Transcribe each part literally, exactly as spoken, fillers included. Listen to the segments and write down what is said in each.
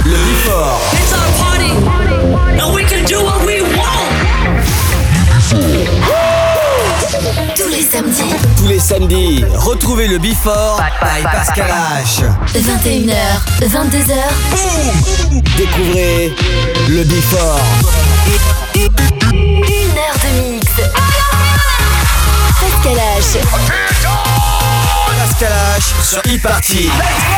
Le Before. It's our party, and we can do what we want. Tous les samedis. Tous les samedis, retrouvez le Before by Pascal H. vingt et une heures, vingt-deux heures. Boum. Découvrez le Before. Une heure de mix. Pascal H. Pascal H sur e-party.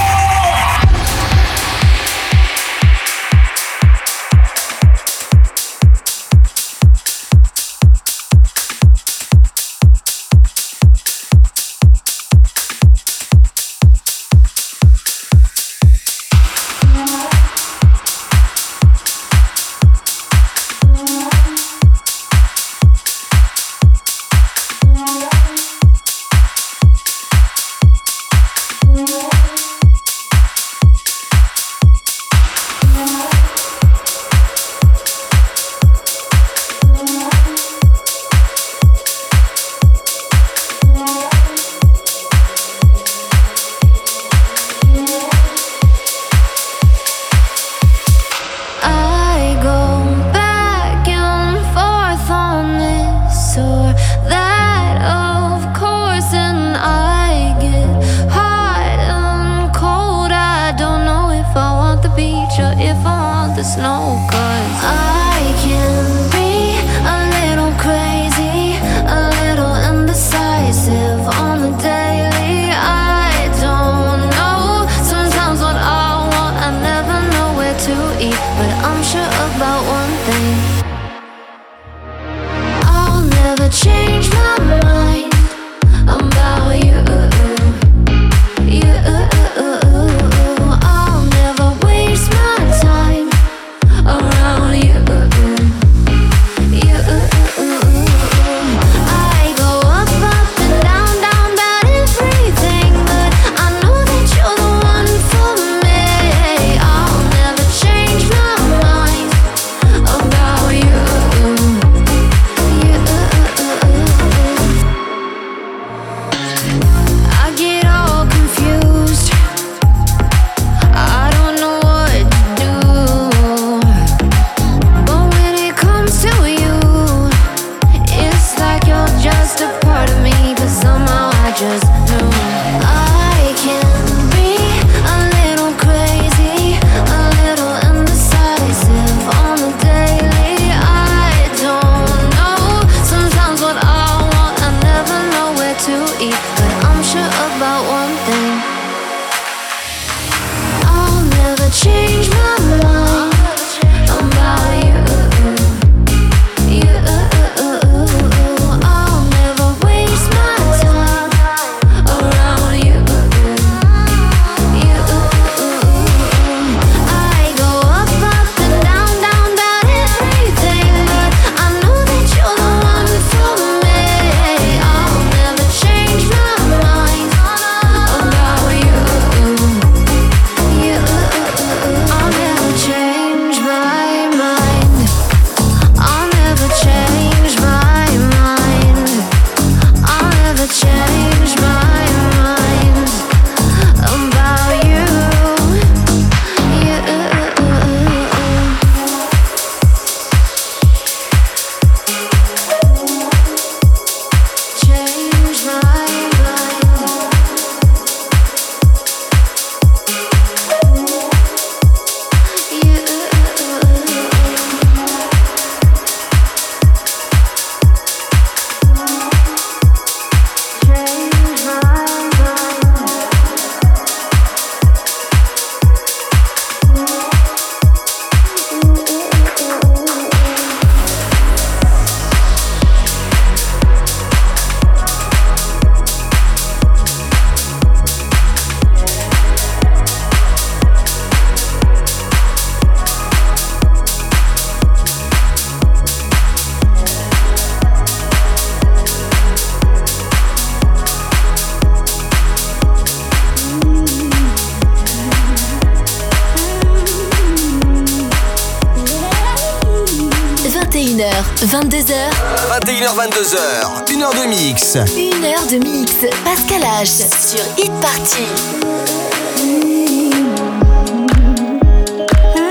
vingt-deux heures. vingt et une heures, vingt-deux heures. Une heure de mix. Une heure de mix. Pascal H sur Hit Party. Mm-hmm.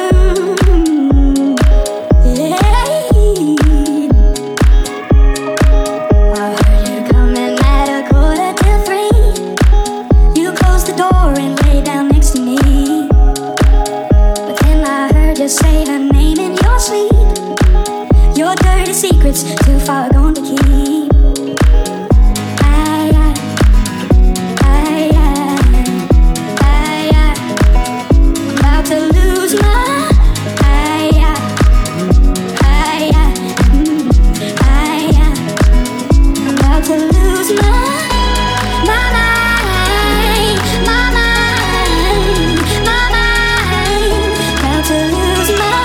secrets too far gone to keep. I, I, I, I, I, about to lose my. I, I, I, mm, I, I, about to lose my. My mind, my mind, my mind, about to lose my.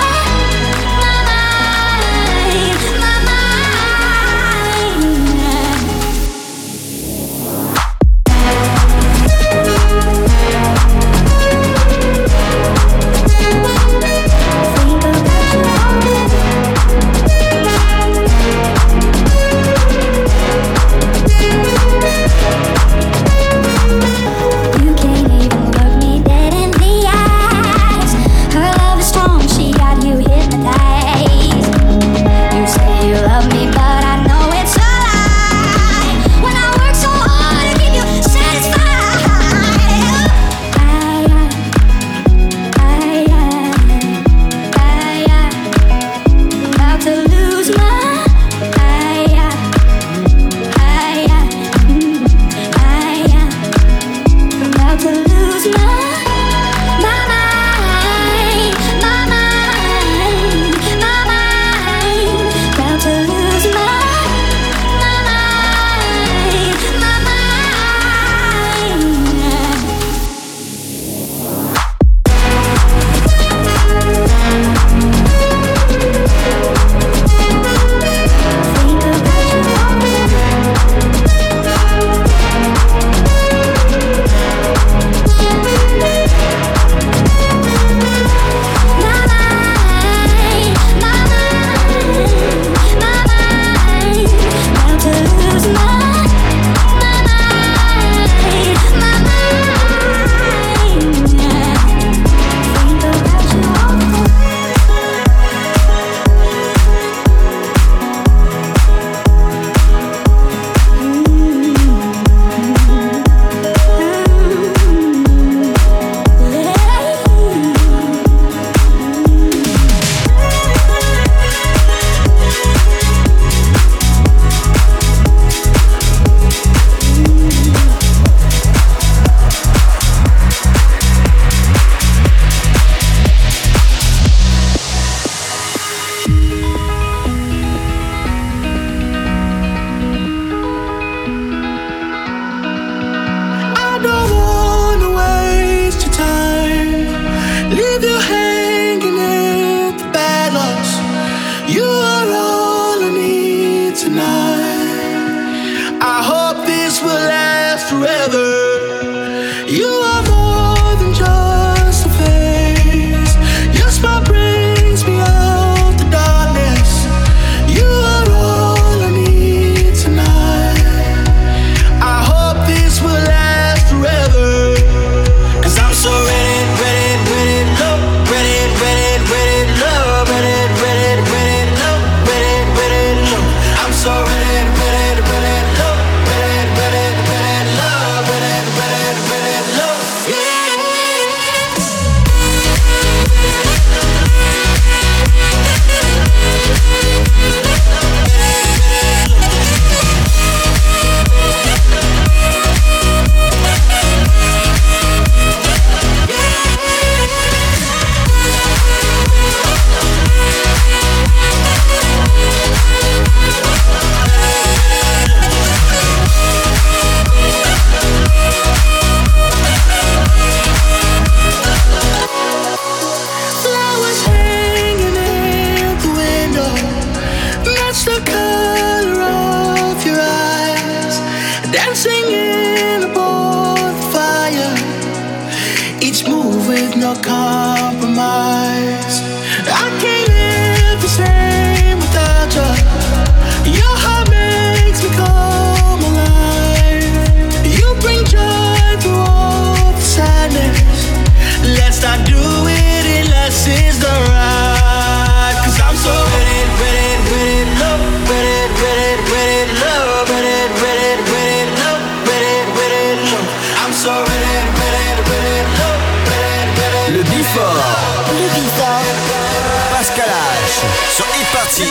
Le Before. Le Before. Pascal H. sur Hit Party.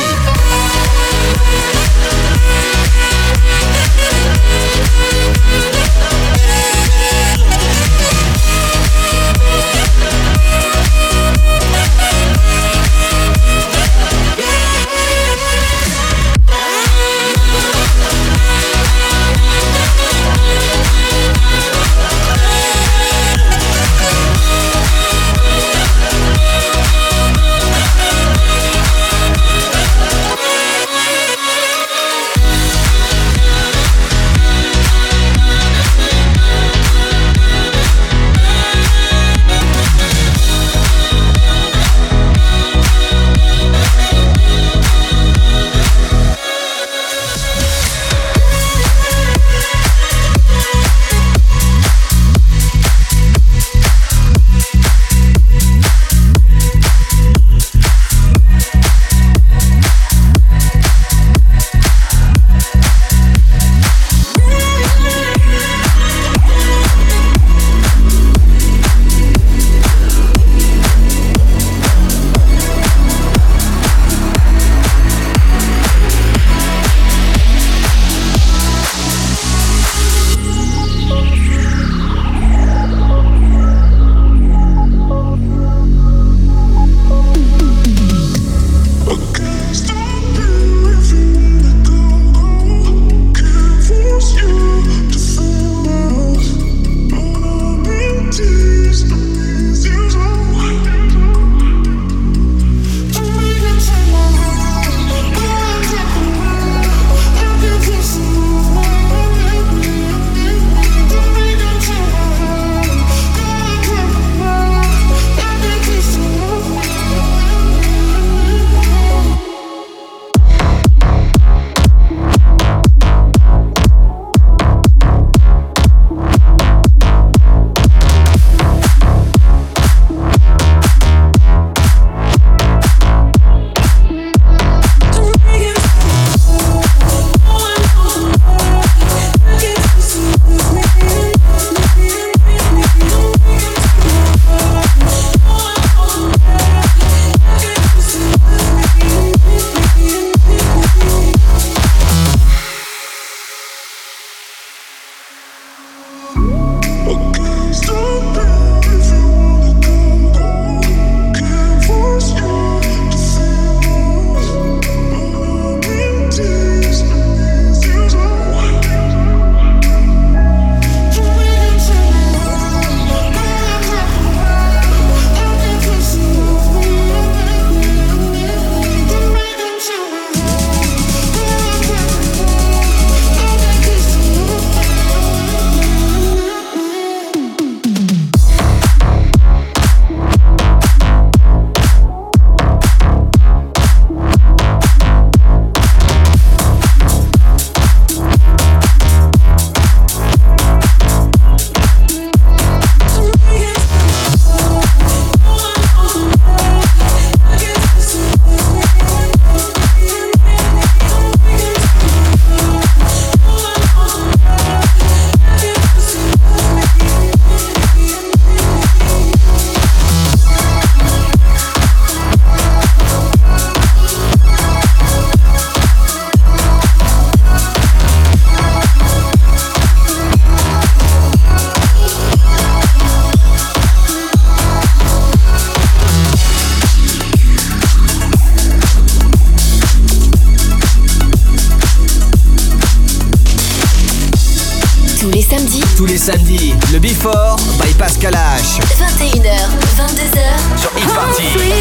Tous les samedis, le Before by Pascal H. vingt et une heures, vingt-deux heures sur Hit Party.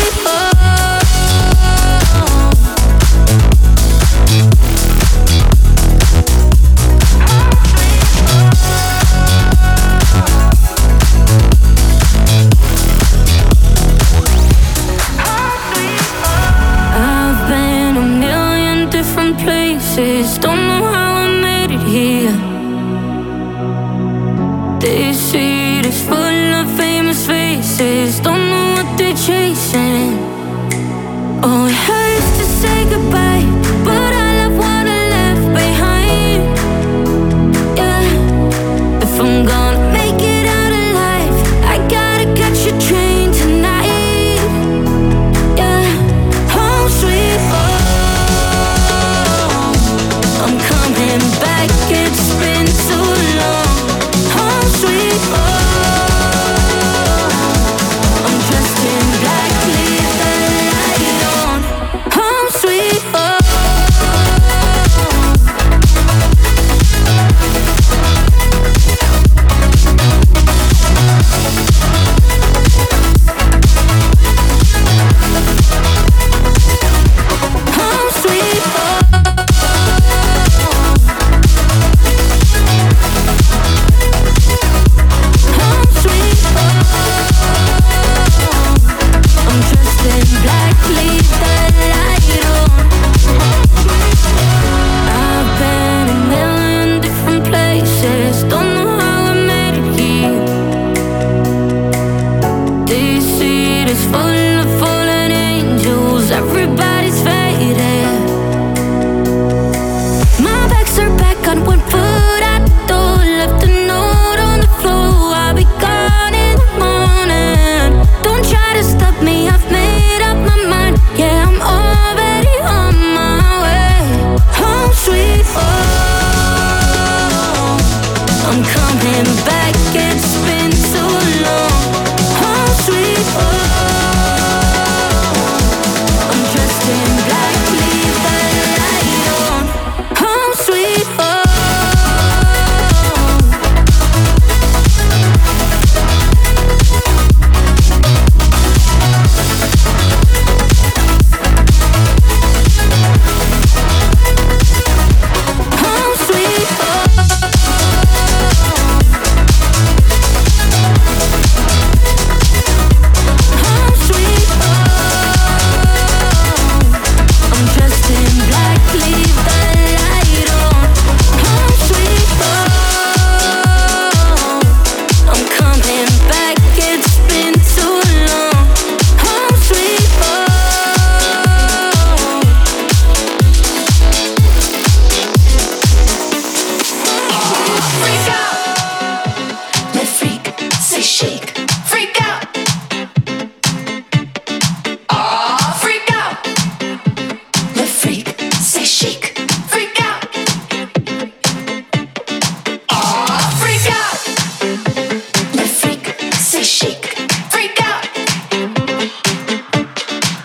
I've been a million different places, don't know how I made it here. This city is full of famous faces.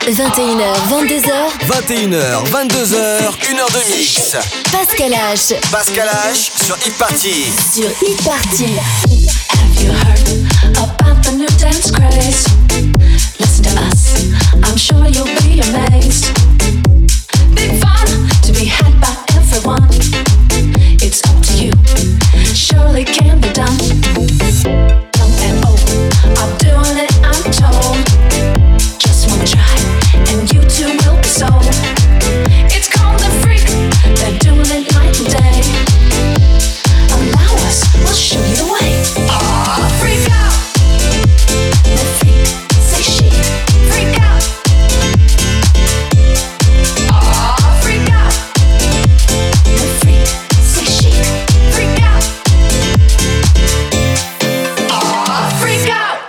vingt et une heures, vingt-deux heures. vingt et une heures, vingt-deux heures, une heure de mix. Pascal H. Pascal H sur Hit Party. Sur Hit Party. Have you heard about the new dance craze? Listen to us, I'm sure you'll be amazed. Big fun to be had by everyone. It's up to you, surely can be done. Young and old are doing it, I'm told. Just one try, and you too will be sold. It's called the freak, they're doing it night and day. Allow us, we'll show you the way. Oh, freak out. The freak, say she. Freak out. Oh, freak out. The freak, say she. Freak out. Oh, freak out.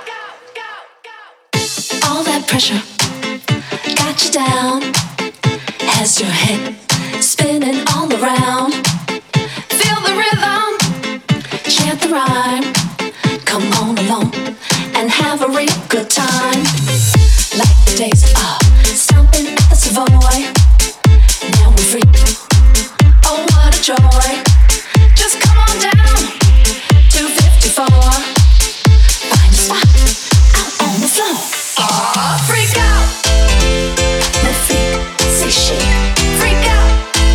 All that pressure got you down. Has your head spinning all around. Feel the rhythm, chant the rhyme. Come on along and have a real good time. Like the days of stomping at the Savoy. Now we're free. Oh, what a joy. Just come on down to fifty-four. Find a spot out on the floor. Oh, freak out. The freak, say she. Freak out.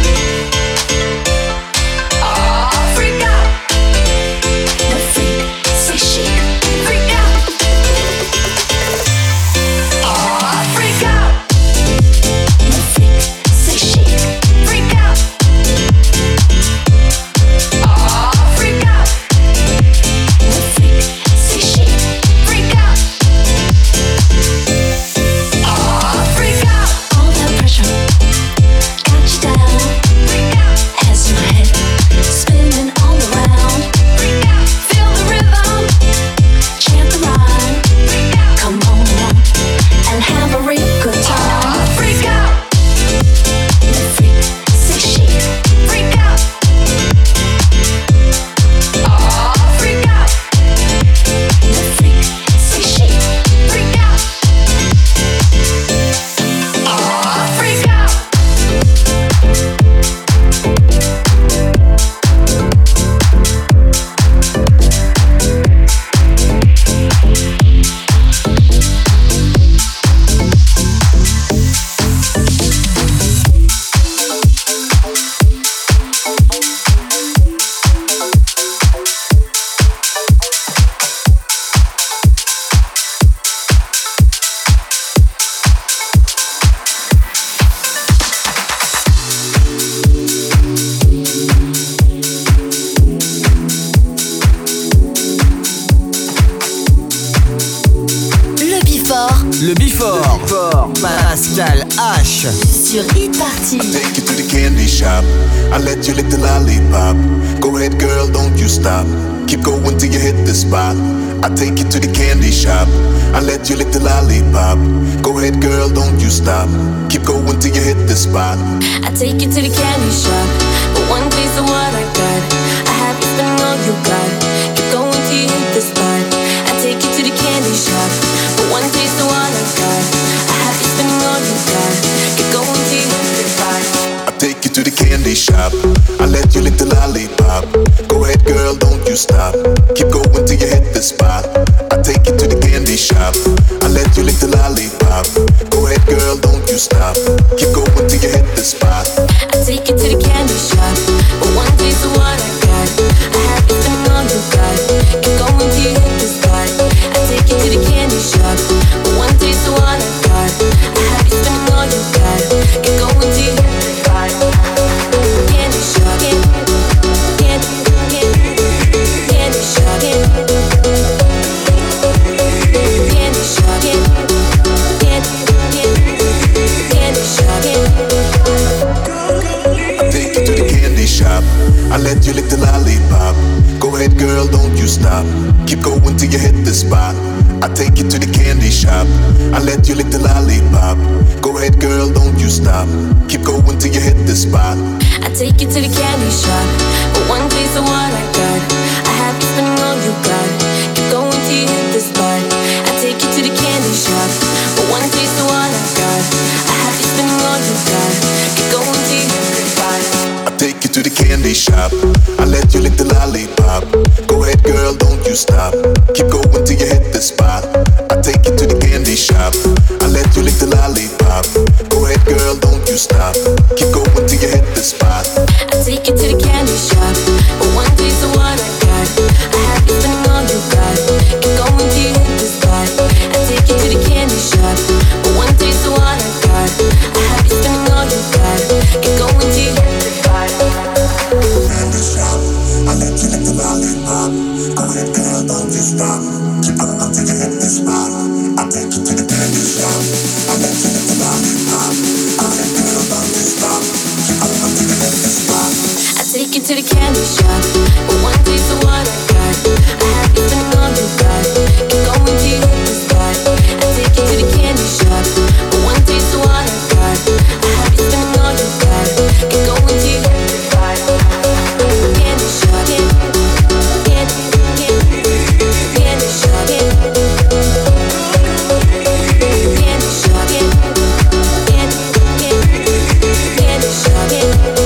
Oh, freak out. The freak, say she. Freak out. Oh, freak out. The freak, say she. Freak out. Oh, freak out. The freak, say she. Freak out. Oh, freak out. All that pressure got you down. Freak out. Has your head spinning all around. Freak out. Feel the rhythm, chant the rhyme. Freak out. Come on along and have a real good time. Oh, freak out. The freak, say she. Freak out. Oh, freak out. The freak, say she. Freak out. Oh, freak out. Le Before. Le Before. Pascal H. Sur Hit Party. Take you to the candy shop. I let you lick the lollipop. Go ahead, girl, don't you stop. Keep going till you hit the spot. I take you to the candy shop. I let you lick the lollipop. Go ahead, girl, don't you stop. Keep going till you hit the spot. I take you to the candy shop, but one taste of what I got. I have you spending all you got. Keep going till you hit the spot. I take you to the candy shop, but one taste of what I got. I have you spending all you got. Keep going till you hit the spot. I take you to the candy shop. I let you lick the lollipop. Go ahead, girl, don't you stop. Keep going till you hit the spot. I take you to the candy shop. I let you lick the lollipop. Go ahead, girl, don't you stop. Keep going till you hit the spot. I take you to the candy shop, but one taste of what I got. I have you spending all you got. Keep going till you hit the spot. I take you to the candy shop, but one taste of what I got. I have you spending all you got. Keep going till you hit the spot. Candy shop, candy, candy, candy shop, candy shop, candy, candy shop, I take you to the candy shop. I let you lick the lollipop. Go ahead, girl, don't you stop. Keep going till you hit the spot. I take you to the candy shop. I let you lick the lollipop. Go ahead, girl, don't you stop. Keep going till you hit the spot. I take you to the candy shop, but one taste of what I got. I have you spending all you got. Keep going till you hit the spot. I take you to the candy shop, but one taste of what I got. candy shop. I let you lick the lollipop. Go ahead, girl, don't you stop. Keep going till you hit the spot. I take you to the candy shop. I let you lick the lollipop. Go ahead, girl, don't you stop. Keep going till you hit the spot. I take you to the candy shop. But one taste of what I got. I have you spending all you got. Keep going till you hit the spot. I take you to the candy shop. But one taste of what I got. I have you spending all you got. Keep going till you hit the spot. Candy shop. I let you lick the lollipop. Go ahead, girl, don't you stop. Keep going till you hit the spot. I take you to the candy shop. I let you lick the lollipop. Go ahead, girl, don't you stop. Keep going till you hit the spot. I take you to the candy shop. But one taste of what I got. I have you spending all you got. Keep going till you hit the spot. I take you to the candy shop. But one taste of what I got. I have you spending all you got. Keep going till you hit the spot. Candy shop. Candy, candy, candy shop. Candy shop. Candy, candy, candy shop.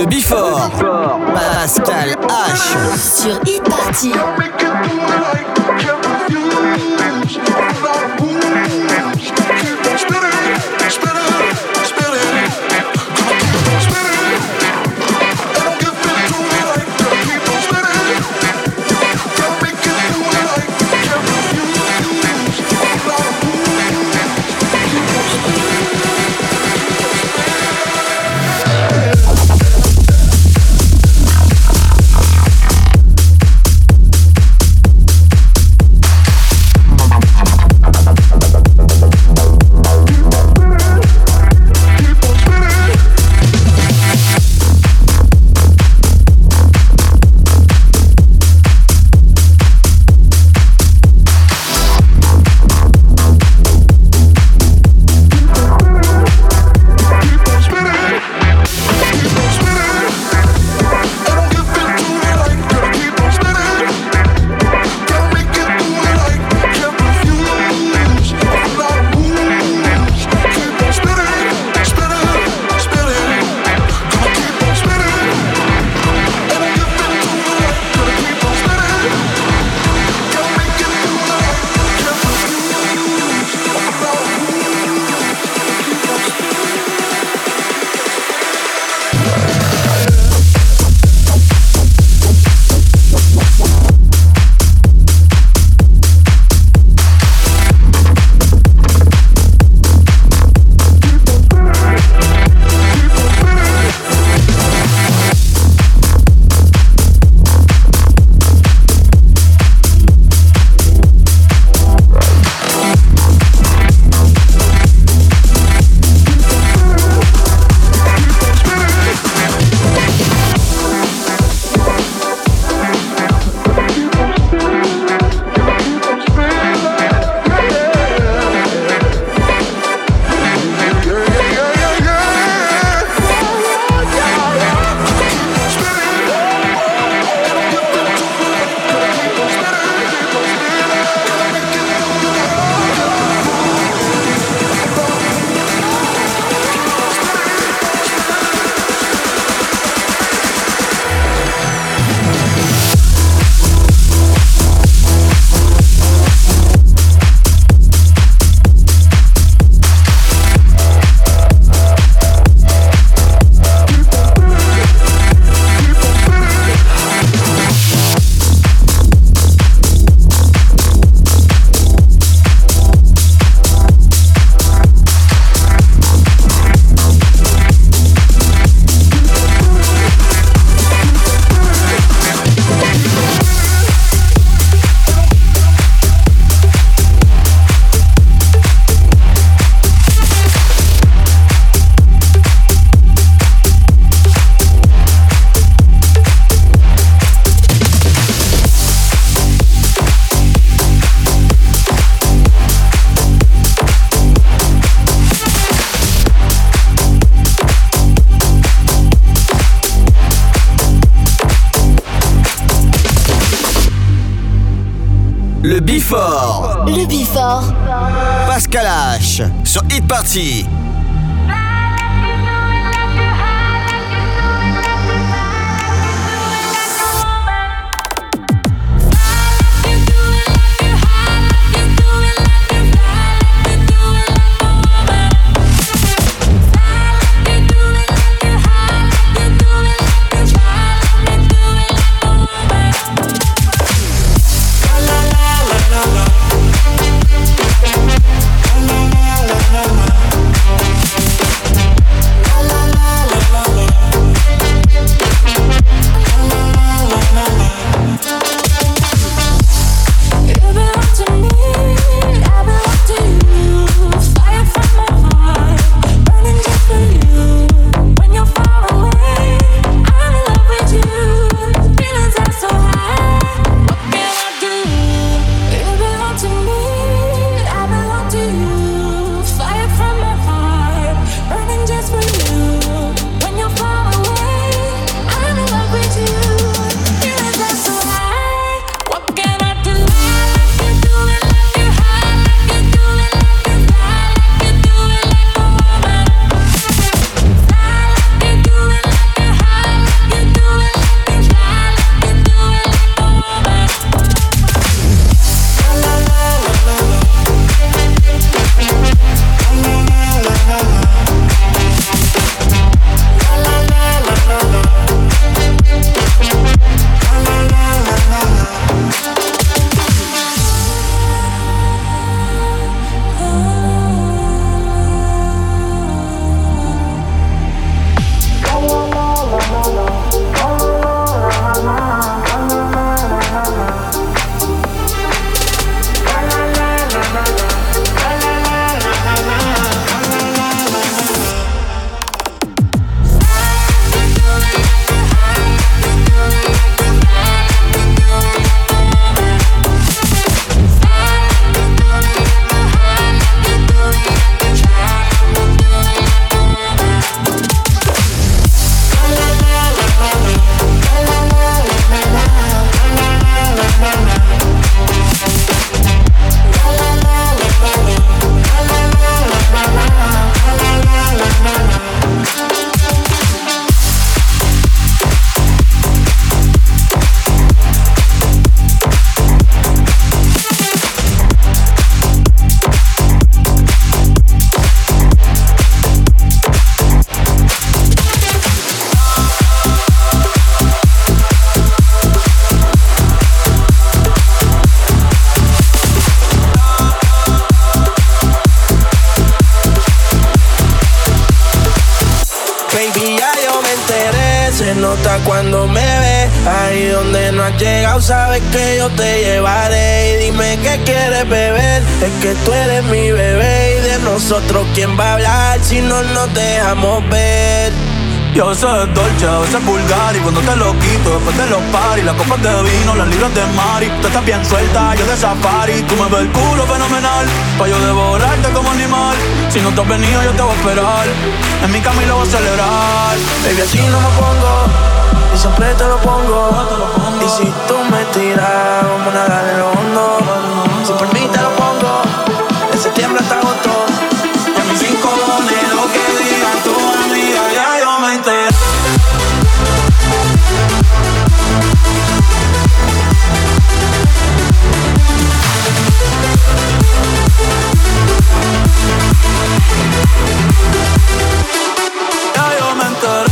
Le Before. Pascal H. Sur Hit Party. Le Before. Le Before. Pascal H. Sur Hit Party. La has llegado, sabes que yo te llevaré. Y dime qué quieres beber, es que tú eres mi bebé. Y de nosotros quién va a hablar si no nos dejamos ver. Yo a veces es dolce, a veces es vulgar. Y cuando te lo quito, después de los party, las copas de vino, las libras de mari. Tú estás bien suelta, yo de safari. Tú me ves el culo fenomenal, pa' yo devorarte como animal. Si no te has venido, yo te voy a esperar. En mi cama y lo voy a celebrar. Baby, así no me pongo, y siempre te lo pongo. Y si tú me tiras, vamos a nadar en lo hondo. Si por mí te lo pongo, de septiembre hasta agosto. Y a mis cinco cojones lo que digan tu amiga, ya yo me enteré. Ya yo me enteré.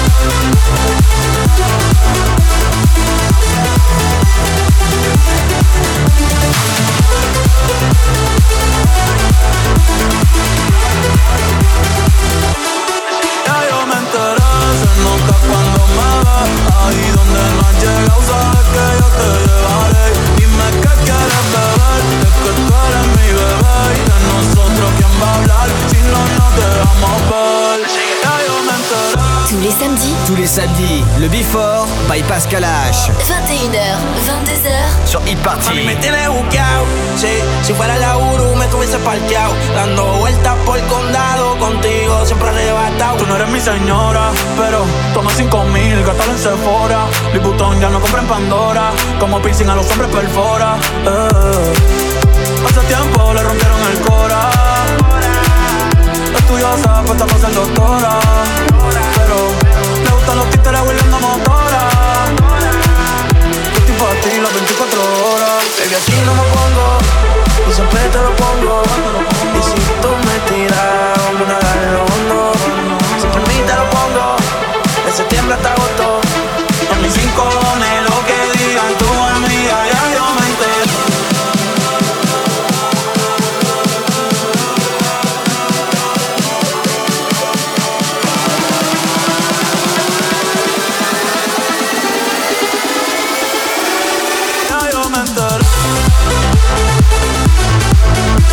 Ya yo me enteré, se nota cuando me ves. Ahí donde no has llegado, sabes que yo te llevaré. Dime qué quieres beber, es que tú eres mi bebé. Y de nosotros quién va a hablar si no nos dejamos ver. Ya yo me enteré. Tous les samedis, Tous les samedis, le Before by Pascal H. vingt et une heures, vingt-deux heures. Sur Hit Party. Mami, me tienes buqueado, sí. Si fuera la Uru me tuviese parqueado, dando vueltas por el condado, contigo siempre arrebatado. Tú no eres mi señora, pero toma cinco mil, gástalo en Sephora. Louis Vuitton ya no compra en Pandora, como piercing a los hombres perfora. eh. Hace tiempo le rompieron el cora. Estudiosa, puesta para ser doctora, pero le gustan los títeres huirleando motora. Yo estoy pa' ti las veinticuatro horas. Baby, así no me pongo, y siempre te lo pongo. Y si tú me tiras, vamos a nadar en lo hondo. Si por mí te lo pongo, de septiembre hasta agosto. Y a mis cinco cojones lo que digan tu amiga, ya yo me enteré. Ya yo me enteré.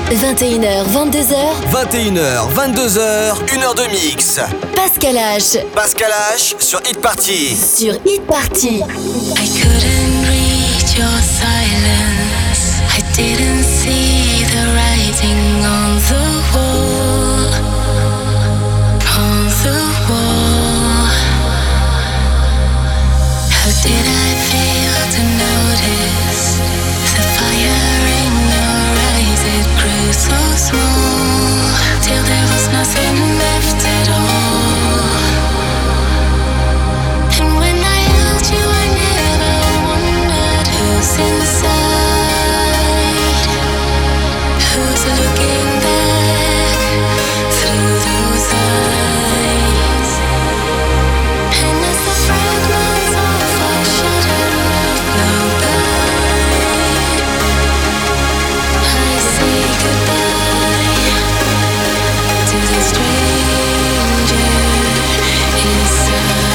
vingt et une heures, vingt-deux heures. vingt et une heures, vingt-deux heures, une heure de mix. Pascal H. Pascal H sur Hit Party. Sur Hit Party. I couldn't read your silence. I didn't see the writing on the wall. On the wall. How did I fail to notice the fire in your eyes? It grew so small till there was nothing left at all. And when I held you, I never wondered who's inside, who's looking back through those eyes. And as the fragments of our shattered glow by, I say goodbye to the stranger inside.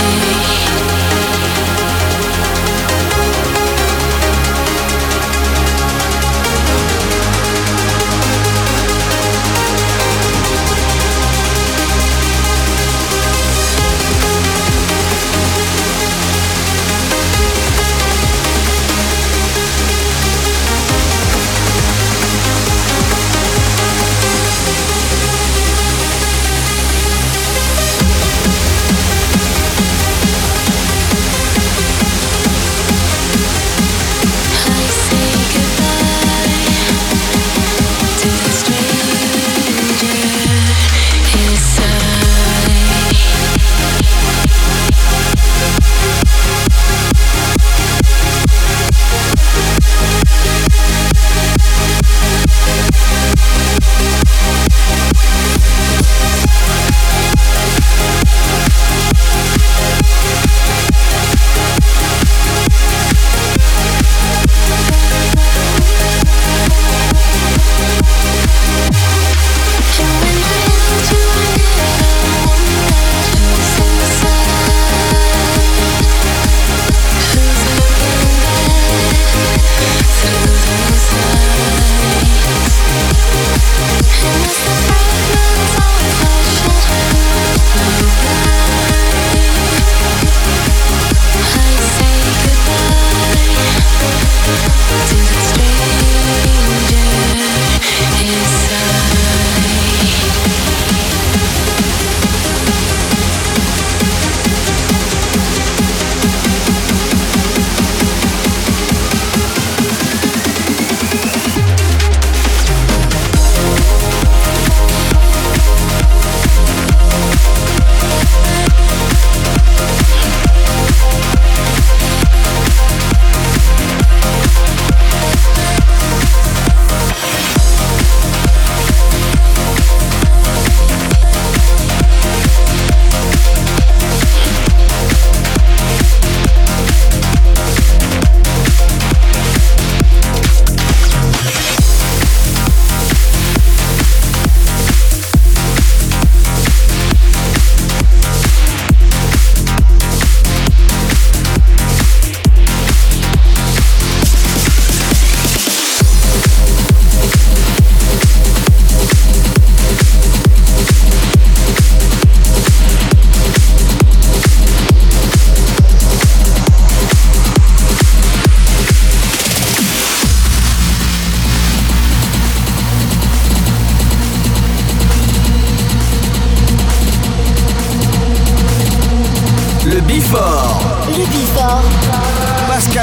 Pascal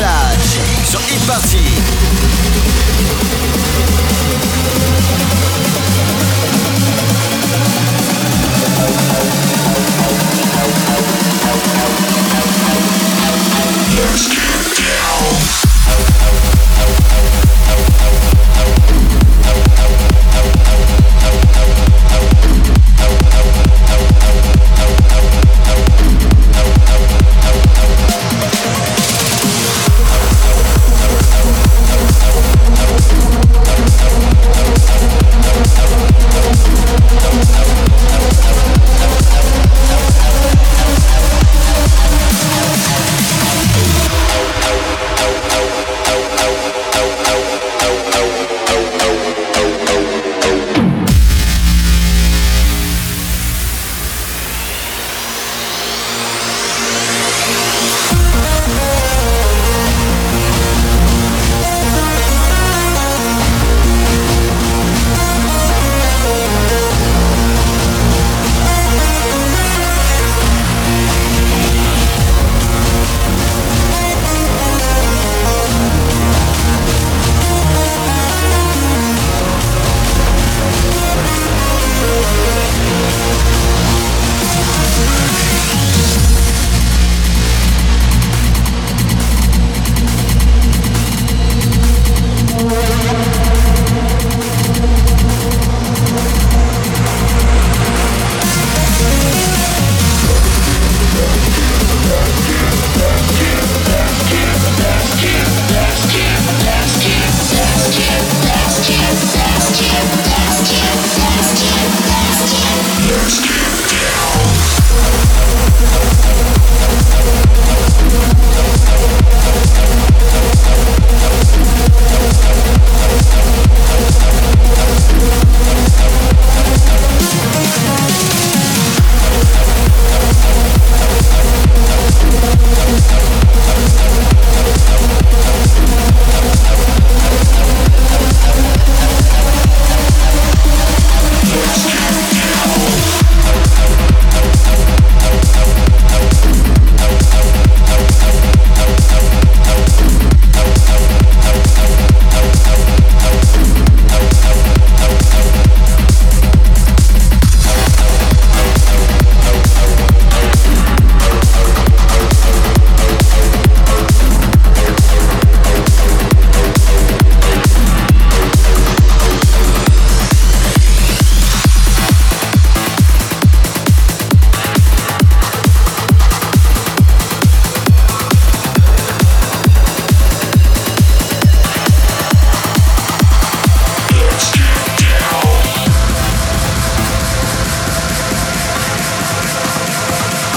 H sur Hit Party. Let's get down.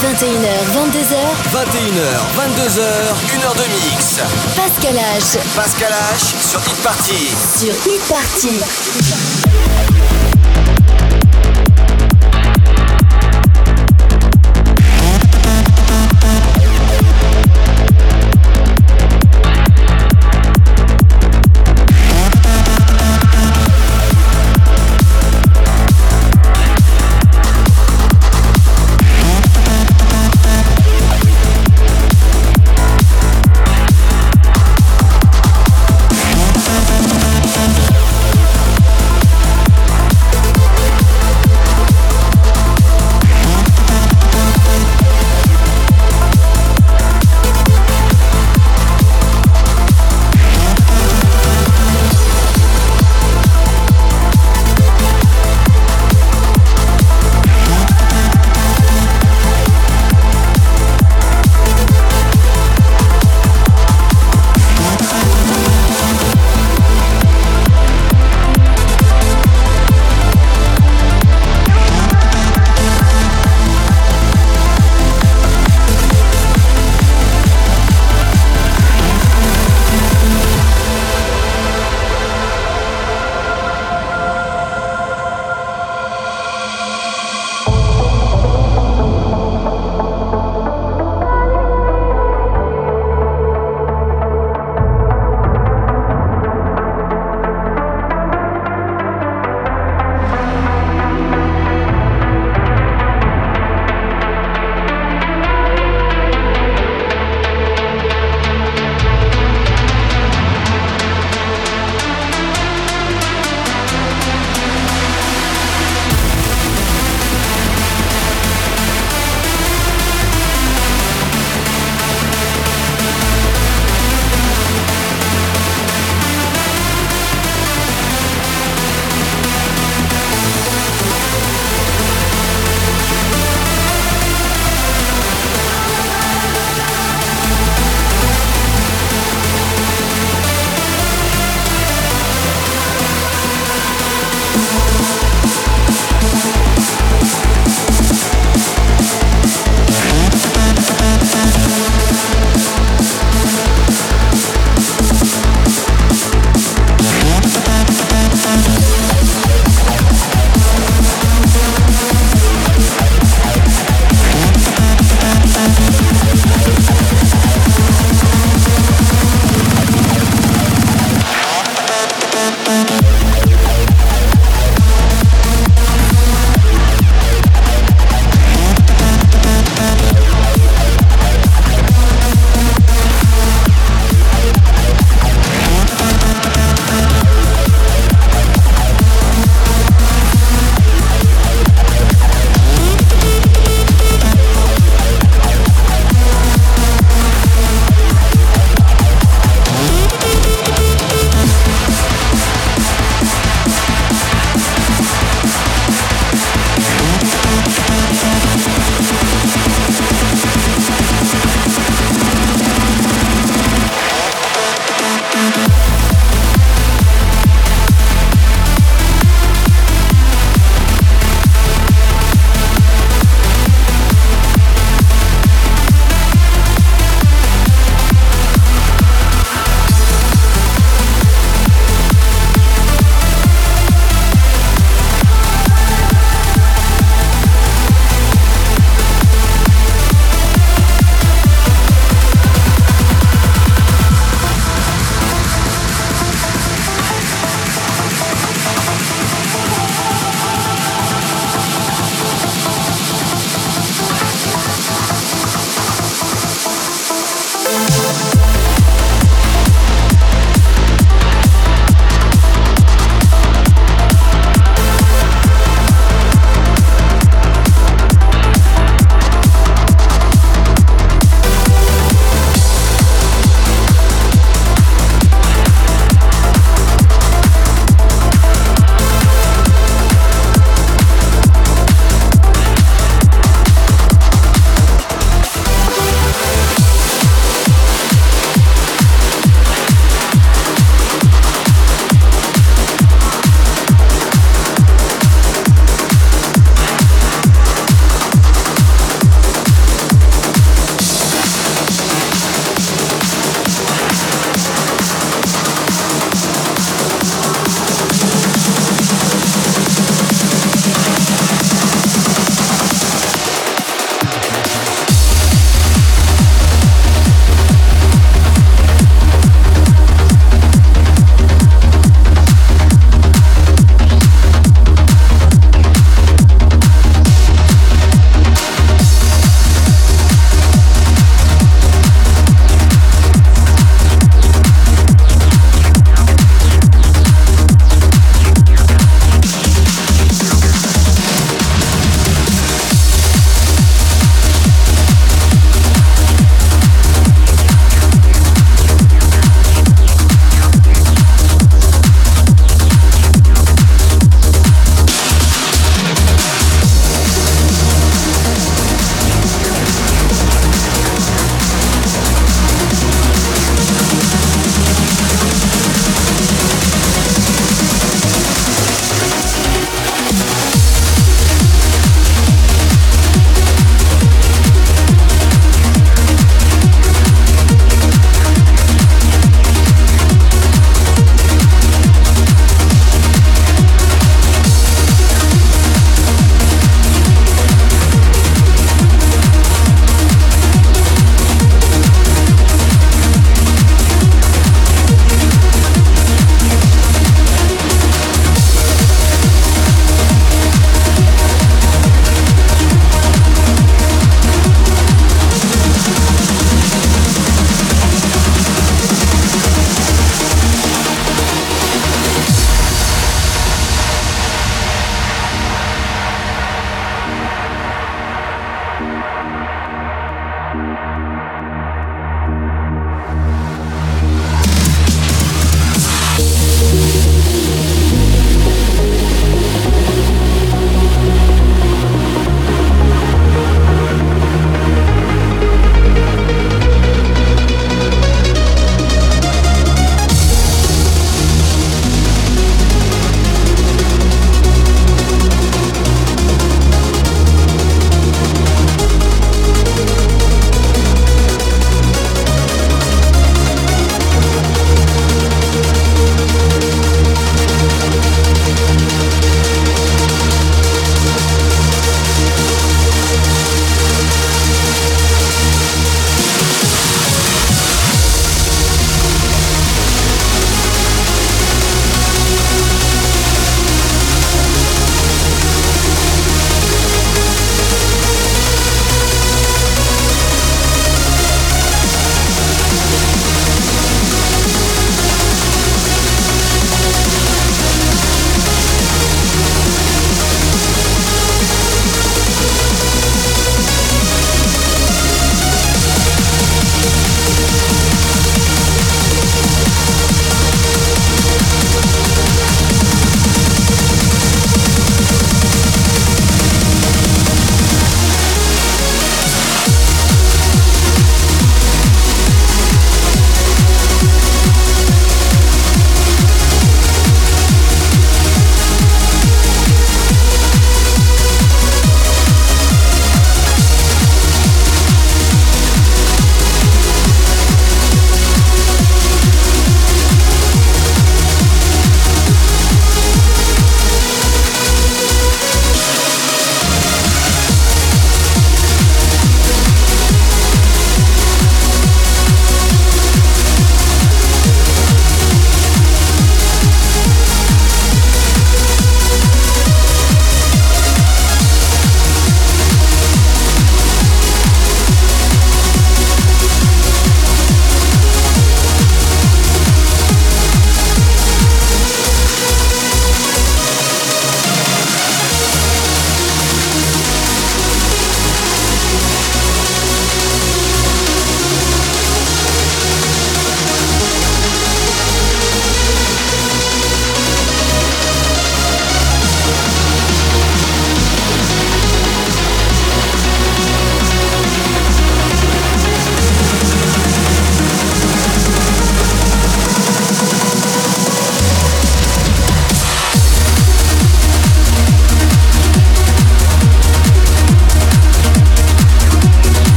vingt et une heures, vingt-deux heures. vingt et une heures, vingt-deux heures, une heure de mix. Pascal H. Pascal H sur Hit Party. Sur Hit Party. We'll be right back.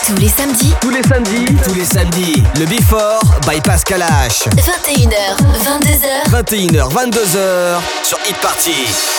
Tous les samedis. Tous les samedis. Tous les samedis. Le Before by Pascal H. vingt et une heures, vingt-deux heures. vingt et une heures, vingt-deux heures sur Hit Party.